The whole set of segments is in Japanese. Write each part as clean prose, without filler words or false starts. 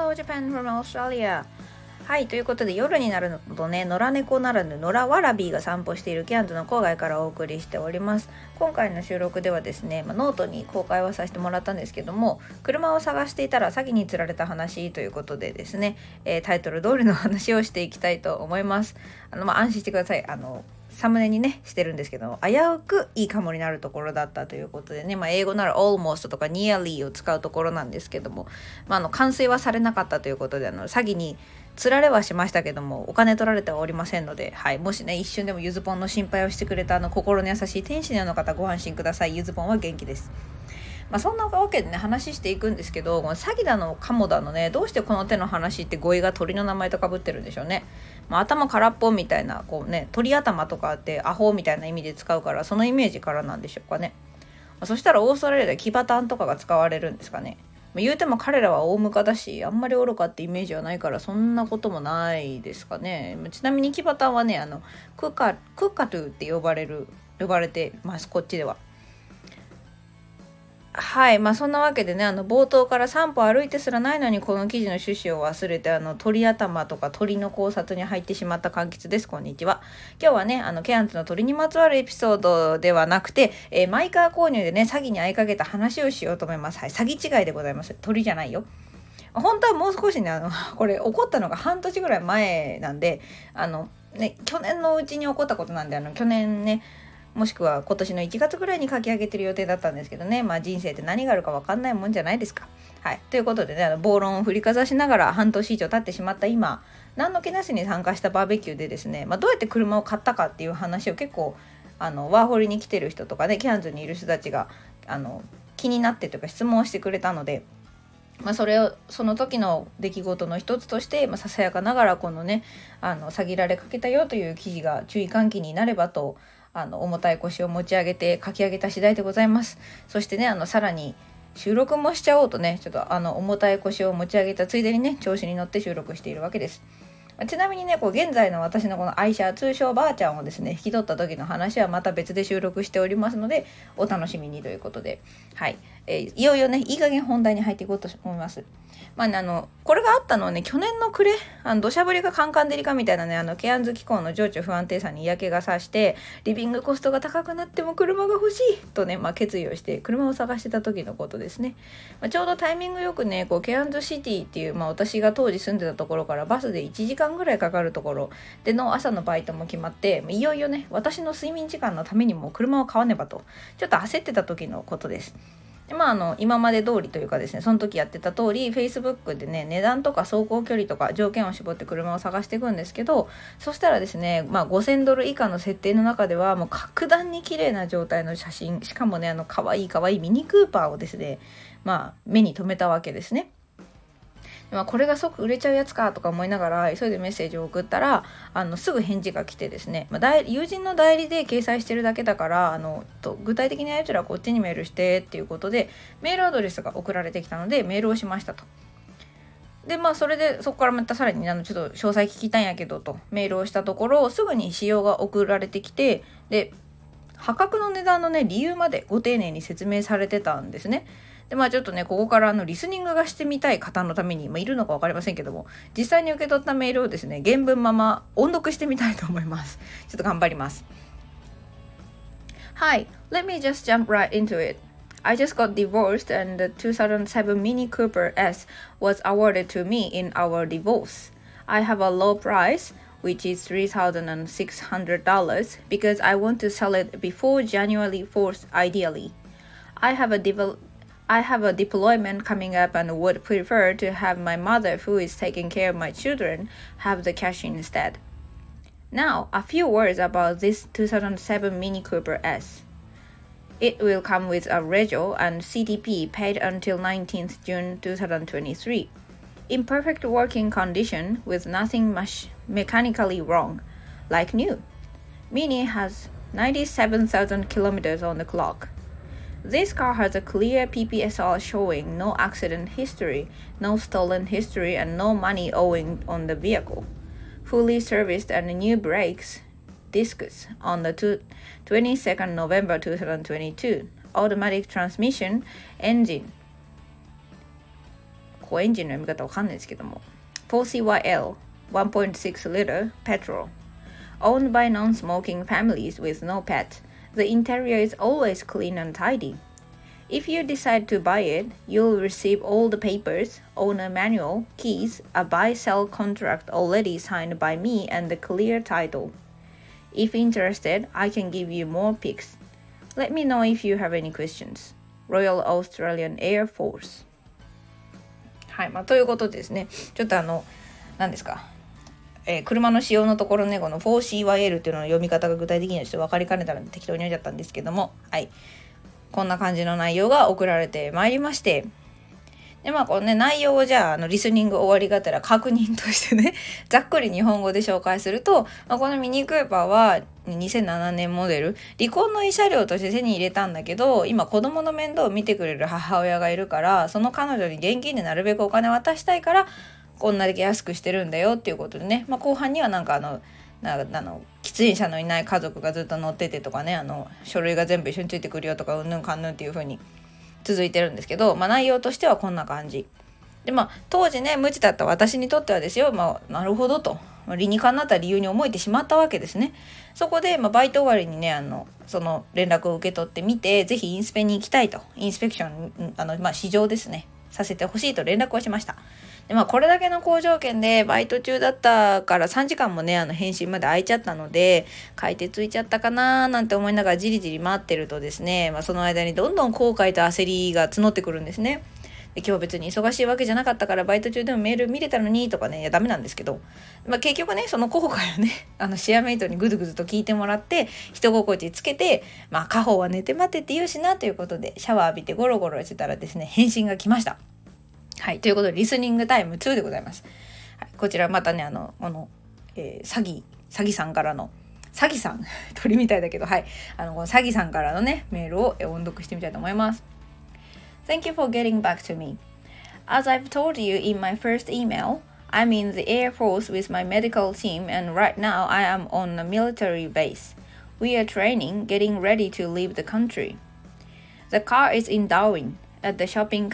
Hello Japan from Australia。はい、ということで夜になるとね、野良猫ならぬ野良ワラビーが散歩しているケアンズの郊外からお送りしております。今回の収録ではですね、ノートに公開はさせてもらったんですけども、車を探していたら詐欺に釣られた話ということでですね、タイトル通りの話をしていきたいと思います。安心してください。サムネにねしてるんですけど、危うくいいかもになるところだったということでね、英語なら almost とか nearly を使うところなんですけども、完遂はされなかったということで、詐欺に釣られはしましたけども、お金取られてはおりませんので、はい、もしね一瞬でもゆずぽんの心配をしてくれた心の優しい天使のような方、ご安心ください。ゆずぽんは元気です。そんなわけでね話していくんですけど、この詐欺だのカモだのね、どうしてこの手の話って語彙が鳥の名前とかぶってるんでしょうね。頭空っぽみたいな鳥頭とかってアホみたいな意味で使うから、そのイメージからなんでしょうかね。そしたらオーストラリアでキバタンとかが使われるんですかね。言うても彼らは大ムカだし、あんまり愚かってイメージはないから、そんなこともないですかね。ちなみにキバタンはね、クカトゥって呼ばれてます、こっちでは。はい、そんなわけでね、冒頭から3歩歩いてすらないのにこの記事の趣旨を忘れて鳥頭とか鳥の考察に入ってしまった柑橘です。こんにちは。今日はねケアンズの鳥にまつわるエピソードではなくて、マイカー購入でね詐欺に遭いかけた話をしようと思います。はい、詐欺違いでございます。鳥じゃないよ。本当はもう少しねこれ起こったのが半年ぐらい前なんで、去年のうちに起こったことなんで、去年ねもしくは今年の1月ぐらいに書き上げてる予定だったんですけどね、人生って何があるか分かんないもんじゃないですか。はい、ということでね、暴論を振りかざしながら半年以上経ってしまった今、何の気なしに参加したバーベキューでですね、どうやって車を買ったかっていう話を結構ワーホリに来てる人とかね、ケアンズにいる人たちが気になってというか質問をしてくれたので、その時の出来事の一つとして、ささやかながらこのね詐欺られかけたよという記事が注意喚起になればと重たい腰を持ち上げて書き上げた次第でございます。そしてねさらに収録もしちゃおうとね、ちょっと重たい腰を持ち上げたついでにね調子に乗って収録しているわけです。ちなみにね現在の私のこの愛車、通称ばあちゃんをですね引き取った時の話はまた別で収録しておりますので、お楽しみにということで、はい、いよいよねいい加減本題に入っていこうと思います。これがあったのはね去年の暮れ、土砂降りがカンカン照りかみたいなねケアンズ気候の情緒不安定さに嫌気がさしてリビングコストが高くなっても車が欲しいとね、決意をして車を探してた時のことですね。ちょうどタイミングよくねケアンズシティっていう、私が当時住んでたところからバスで1時間ぐらいかかるところでの朝のバイトも決まって、いよいよね私の睡眠時間のためにも車を買わねばとちょっと焦ってた時のことです。で今まで通りというかですね、その時やってた通り Facebook でね値段とか走行距離とか条件を絞って車を探していくんですけど、そしたらですね、$5,000以下の設定の中ではもう格段に綺麗な状態の写真、しかもね可愛いミニクーパーをですね目に留めたわけですね。これが即売れちゃうやつかとか思いながら急いでメッセージを送ったらすぐ返事が来てですね、友人の代理で掲載してるだけだから具体的なやつらこっちにメールしてっていうことでメールアドレスが送られてきたのでメールをしましたと。でそれでそこからまたさらにちょっと詳細聞きたいんやけどとメールをしたところ、すぐに仕様が送られてきて、で破格の値段のね理由までご丁寧に説明されてたんですね。でちょっとねここからリスニングがしてみたい方のために、いるのか分かりませんけども、実際に受け取ったメールをですね原文まま音読してみたいと思います。ちょっと頑張ります。Hi, let me just jump right into it. I just got divorced and the 2007 Mini Cooper S was awarded to me in our divorce. I have a low price, which is $3,600 because I want to sell it before January 4th ideally. I have a deployment coming up and would prefer to have my mother, who is taking care of my children, have the cash instead. Now, a few words about this 2007 Mini Cooper S. It will come with a rego and CTP paid until 19th June 2023. In perfect working condition with nothing much mechanically wrong, like new. Mini has 97,000 kilometers on the clock.This car has a clear PPSR showing no accident history, no stolen history, and no money owing on the vehicle. Fully serviced and new brakes, discs on the 22nd November 2022. Automatic transmission, engine. ここエンジンの読み方わかんないですけども 4CYL 1.6 liter petrol owned by non-smoking families with no pets. The interior is always clean and tidy. If you decide to buy it, you'll receive all the papers, owner manual, keys, a buy-sell contract already signed by me and the clear title. If interested, I can give you more pics. Let me know if you have any questions. Royal Australian Air Force. はい、ということでですね、ちょっと何ですか、車の仕様のところね、この 4CYL っていうのの読み方が具体的にはちょっと分かりかねたので適当に読んじゃったんですけども、はい、こんな感じの内容が送られてまいりまして、でこのね内容をじゃあリスニング終わりがてら確認としてねざっくり日本語で紹介すると、このミニクーパーは2007年モデル、離婚の慰謝料として手に入れたんだけど、今子供の面倒を見てくれる母親がいるから、その彼女に現金でなるべくお金を渡したいからこんなだけ安くしてるんだよっていうことでね、後半にはなんか喫煙者のいない家族がずっと乗っててとかね、書類が全部一緒についてくるよとかうんぬんかんぬんっていう風に続いてるんですけど、内容としてはこんな感じで、当時ね無知だった私にとってはですよ、なるほどと、理にかなった理由に思えてしまったわけですね。そこで、バイト終わりにねその連絡を受け取ってみて、ぜひインスペに行きたいと、インスペクション試乗ですねさせてほしいと連絡をしました。でこれだけの好条件でバイト中だったから3時間もね返信まで空いちゃったので、買い手ついちゃったかななんて思いながらじりじり待ってるとですね、その間にどんどん後悔と焦りが募ってくるんですね。で今日別に忙しいわけじゃなかったからバイト中でもメール見れたのにとかね、いやダメなんですけど、結局ねその後悔をねシェアメイトにぐずぐずと聞いてもらって人心地つけて、家宝は寝て待てって言うしなということでシャワー浴びてゴロゴロしてたらですね、返信が来ました。はい、ということでリスニングタイム2でございます。はい、こちらまたね詐欺さんからの詐欺さん鳥みたいだけど、はい、この詐欺さんからのねメールを音読してみたいと思います。Thank you for getting back to me. As I've told you in my first email, I'm in the Air Force with my medical team and right now I am on a military base. We are training, getting ready to leave the country. The car is in Darwin.At the shipping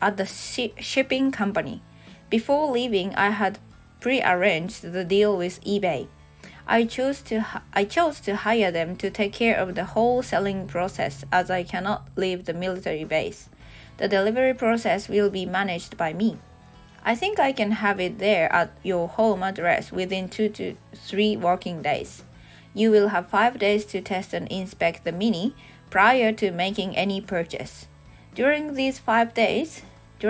company. Before leaving, I had pre-arranged the deal with eBay. I chose to hire them to take care of the whole selling process as I cannot leave the military base. The delivery process will be managed by me. I think I can have it there at your home address within 2 to 3 working days. You will have 5 days to test and inspect the Mini prior to making any purchase.During those 5 days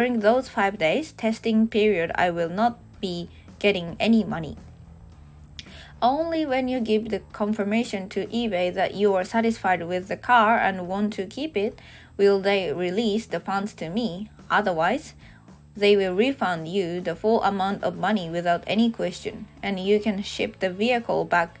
testing period, I will not be getting any money. Only when you give the confirmation to eBay that you are satisfied with the car and want to keep it, will they release the funds to me. Otherwise, they will refund you the full amount of money without any question, and you can ship the vehicle back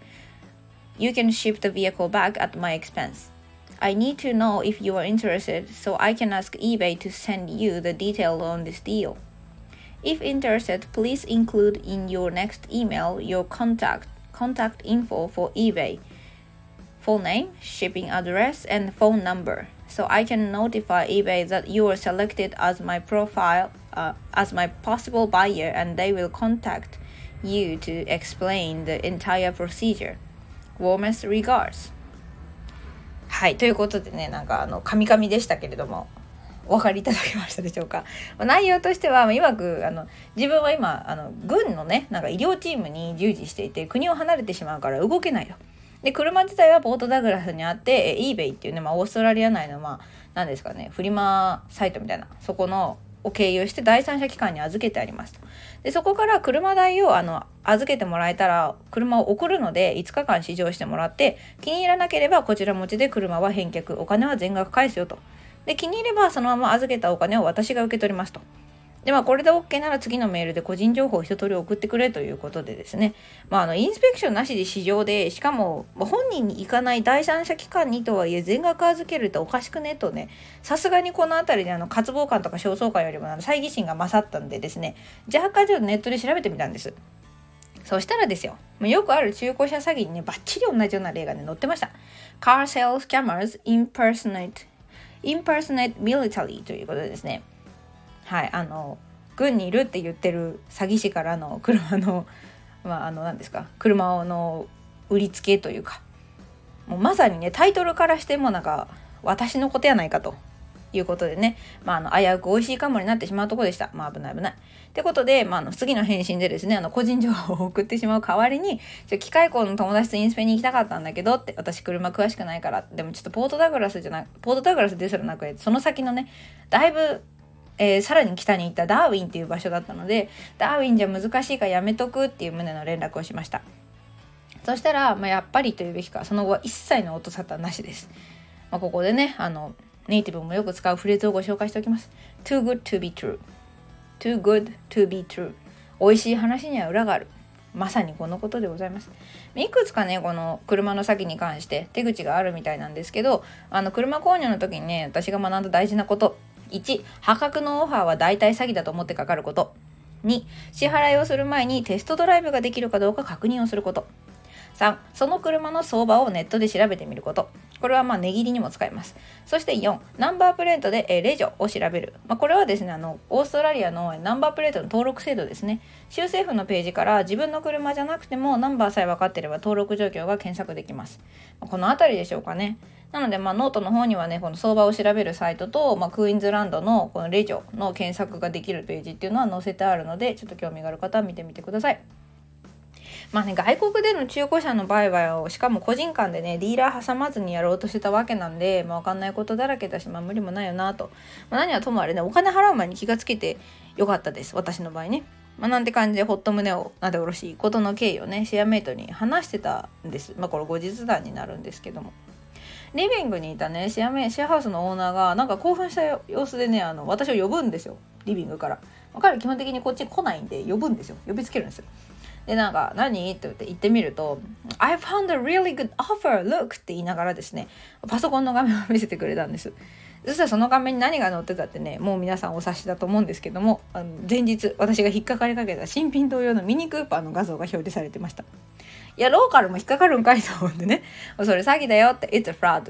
at my expense.I need to know if you are interested so I can ask eBay to send you the detail on this deal. If interested, please include in your next email your contact info for eBay, full name, shipping address, and phone number, so I can notify eBay that you are selected as my possible buyer and they will contact you to explain the entire procedure. Warmest regards.はい、ということでね、カミカミでしたけれどもお分かりいただけましたでしょうか。内容としては曰く自分は今軍のね医療チームに従事していて国を離れてしまうから動けないと。で車自体はポートダグラスにあって eBay っていうね、オーストラリア内の何ですかね、フリマサイトみたいなそこのを経由して第三者機関に預けてありますと。でそこから車代を預けてもらえたら車を送るので5日間試乗してもらって、気に入らなければこちら持ちで車は返却、お金は全額返すよと。で気に入ればそのまま預けたお金を私が受け取りますと。でこれで OK なら次のメールで個人情報を一通り送ってくれということでですね、インスペクションなしで試乗で、しかも本人に行かない第三者機関にとはいえ全額預けるっておかしくねとね、さすがにこのあたりで渇望感とか焦燥感よりも猜疑心が勝ったんでですね、若干ちょっとネットで調べてみたんです。そしたらですよ、よくある中古車詐欺にねバッチリ同じような例がね載ってました。 Car sales scammers impersonate military ということでですね、はい軍にいるって言ってる詐欺師からの車の何ですか、車の売りつけというか、もうまさにねタイトルからしてもなんか私のことやないかということでね、危うく美味しいかもになってしまうところでした。危ないってことで、次の返信でですね個人情報を送ってしまう代わりに、機械工の友達とインスペに行きたかったんだけどって、私車詳しくないから、でもちょっとポートダグラスですらなくて、その先のねだいぶさらに北に行ったダーウィンっていう場所だったので、ダーウィンじゃ難しいからやめとくっていう旨の連絡をしました。そしたら、やっぱりというべきか、その後は一切の音沙汰なしです。ここでねネイティブもよく使うフレーズをご紹介しておきます。 Too good to be true Too good to be true。 美味しい話には裏がある。まさにこのことでございます。いくつかねこの車の詐欺に関して手口があるみたいなんですけど、車購入の時にね私が学んだ大事なこと、1、破格のオファーは大体詐欺だと思ってかかること。2、支払いをする前にテストドライブができるかどうか確認をすること。3、その車の相場をネットで調べてみること。これは値切りにも使えます。そして4、ナンバープレートでレジョを調べる。これはですねオーストラリアのナンバープレートの登録制度ですね。州政府のページから自分の車じゃなくてもナンバーさえ分かっていれば登録状況が検索できます。このあたりでしょうかね。なのでノートの方にはねこの相場を調べるサイトと、クイーンズランドのこのレジョの検索ができるページっていうのは載せてあるので、ちょっと興味がある方は見てみてください。外国での中古車の売買をしかも個人間でねディーラー挟まずにやろうとしてたわけなんで、分かんないことだらけだし、無理もないよなと、何はともあれねお金払う前に気がつけてよかったです、私の場合ね。なんて感じでほっと胸をなでおろしいことの経緯をねシェアメイトに話してたんです。これ後日談になるんですけども、リビングにいたねシェアハウスのオーナーがなんか興奮した様子でね私を呼ぶんですよ、リビングから。彼基本的にこっち来ないんで呼ぶんですよ、呼びつけるんですよ。で何って言ってみると I found a really good offer look って言いながらですねパソコンの画面を見せてくれたんです。そしたらその画面に何が載ってたってね、もう皆さんお察しだと思うんですけども、前日私が引っかかりかけた新品同様のミニクーパーの画像が表示されてました。いやローカルも引っかかるんかいと思うんでね、それ詐欺だよって It's a fraud って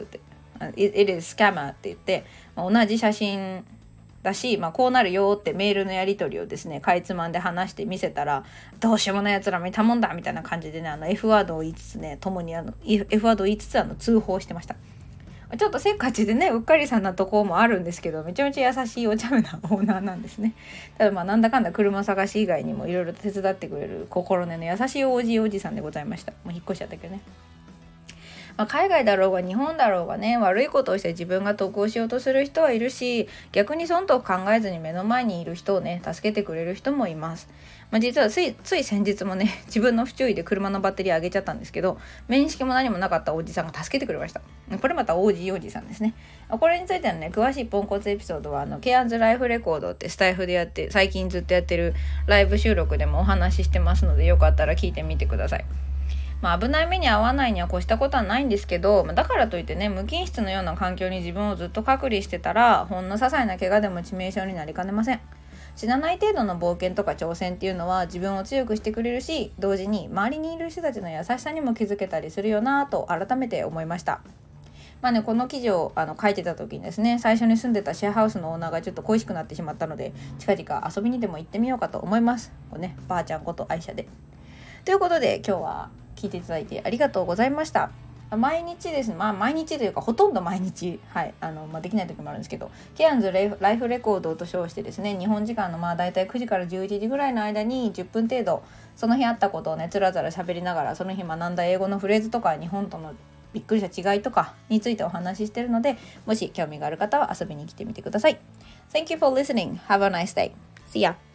It is scammer って言って、同じ写真だし、こうなるよってメールのやり取りをですねかいつまんで話して見せたら、どうしようもないやつら見たもんだみたいな感じでねF ワードを言いつつね共にF ワードを言いつつ通報してました。ちょっとせっかちでねうっかりさんなとこもあるんですけど、めちゃめちゃ優しいお茶目なオーナーなんですね。ただなんだかんだ車探し以外にもいろいろ手伝ってくれる心根の優しいおじさんでございました。もう引っ越しちゃったけどね。海外だろうが日本だろうがね悪いことをして自分が得をしようとする人はいるし、逆に損得考えずに目の前にいる人をね助けてくれる人もいます。実はつい先日もね自分の不注意で車のバッテリー上げちゃったんですけど、面識も何もなかったおじさんが助けてくれました。これまたおじさんですね。これについてのね詳しいポンコツエピソードはケアンズライフレコードってスタイフでやって最近ずっとやってるライブ収録でもお話ししてますので、よかったら聞いてみてください。危ない目に遭わないには越したことはないんですけど、だからといってね無菌室のような環境に自分をずっと隔離してたら、ほんの些細な怪我でも致命傷になりかねません。死なない程度の冒険とか挑戦っていうのは自分を強くしてくれるし、同時に周りにいる人たちの優しさにも気づけたりするよなと改めて思いました。この記事を書いてた時にですね、最初に住んでたシェアハウスのオーナーがちょっと恋しくなってしまったので、近々遊びにでも行ってみようかと思います。ばあちゃんこと愛車で。ということで今日は聞いていただいてありがとうございました。毎日ですね、毎日というかほとんど毎日、できない時もあるんですけど、ケアンズライフレコードと称してですね、日本時間のだいたい9時から11時ぐらいの間に10分程度その日あったことをねつらつら喋りながら、その日学んだ英語のフレーズとか日本とのびっくりした違いとかについてお話ししているので、もし興味がある方は遊びに来てみてください。 Thank you for listening. Have a nice day. See ya.